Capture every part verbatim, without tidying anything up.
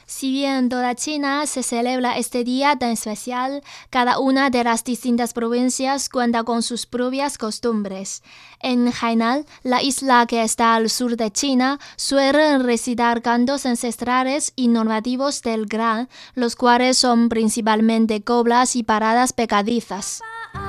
Si bien en toda China se celebra este día tan especial, cada una de las distintas provincias cuenta con sus propias costumbres. En Hainan, la isla que está al sur de China, suelen recitar cantos ancestrales y normativos del Gran, los cuales son principalmente coplas y paradas pegadizas.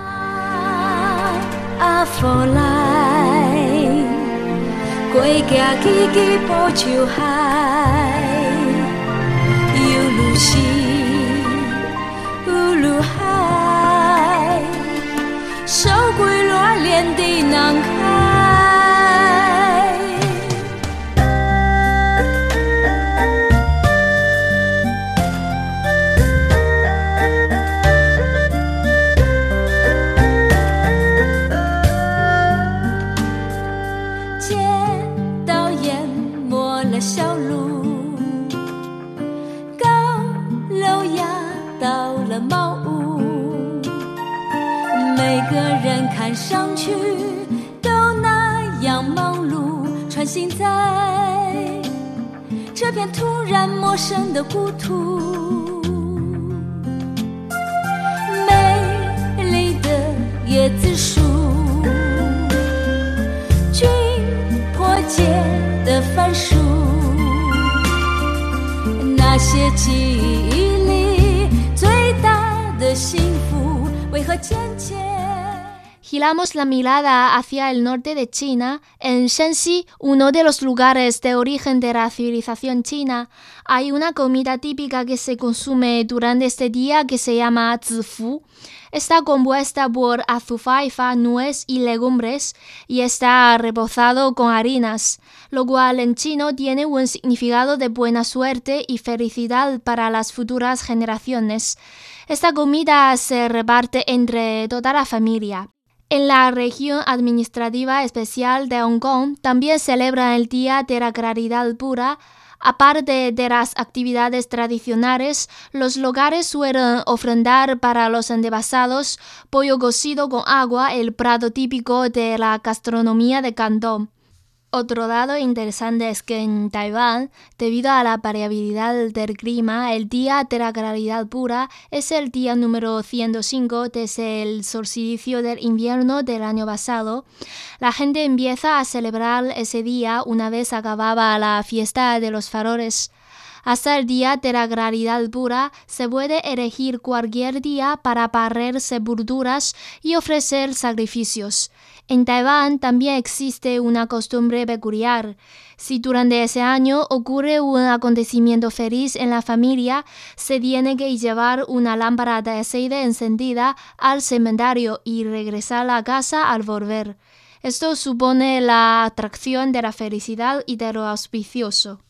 Giramos la mirada hacia el norte de China. En Shanxi, uno de los lugares de origen de la civilización china, hay una comida típica que se consume durante este día que se llama zifu. Está compuesta por azufaifa, nuez y legumbres y está reposado con harinas, lo cual en chino tiene un significado de buena suerte y felicidad para las futuras generaciones. Esta comida se reparte entre toda la familia. En la región administrativa especial de Hong Kong también celebran el Día de la Caridad Pura. Aparte de las actividades tradicionales, los locales suelen ofrendar para los antepasados pollo cocido con agua, el plato típico de la gastronomía de Cantón. Otro dato interesante es que en Taiwán, debido a la variabilidad del clima, el Día de la Caridad Pura es el día número ciento cinco desde el solsticio del invierno del año pasado. La gente empieza a celebrar ese día una vez acababa la fiesta de los faroles. Hasta el Día de la Caridad Pura se puede elegir cualquier día para barrer sepulturas y ofrecer sacrificios. En Taiwán también existe una costumbre peculiar. Si durante ese año ocurre un acontecimiento feliz en la familia, se tiene que llevar una lámpara de aceite encendida al cementerio y regresar a casa al volver. Esto supone la atracción de la felicidad y de lo auspicioso.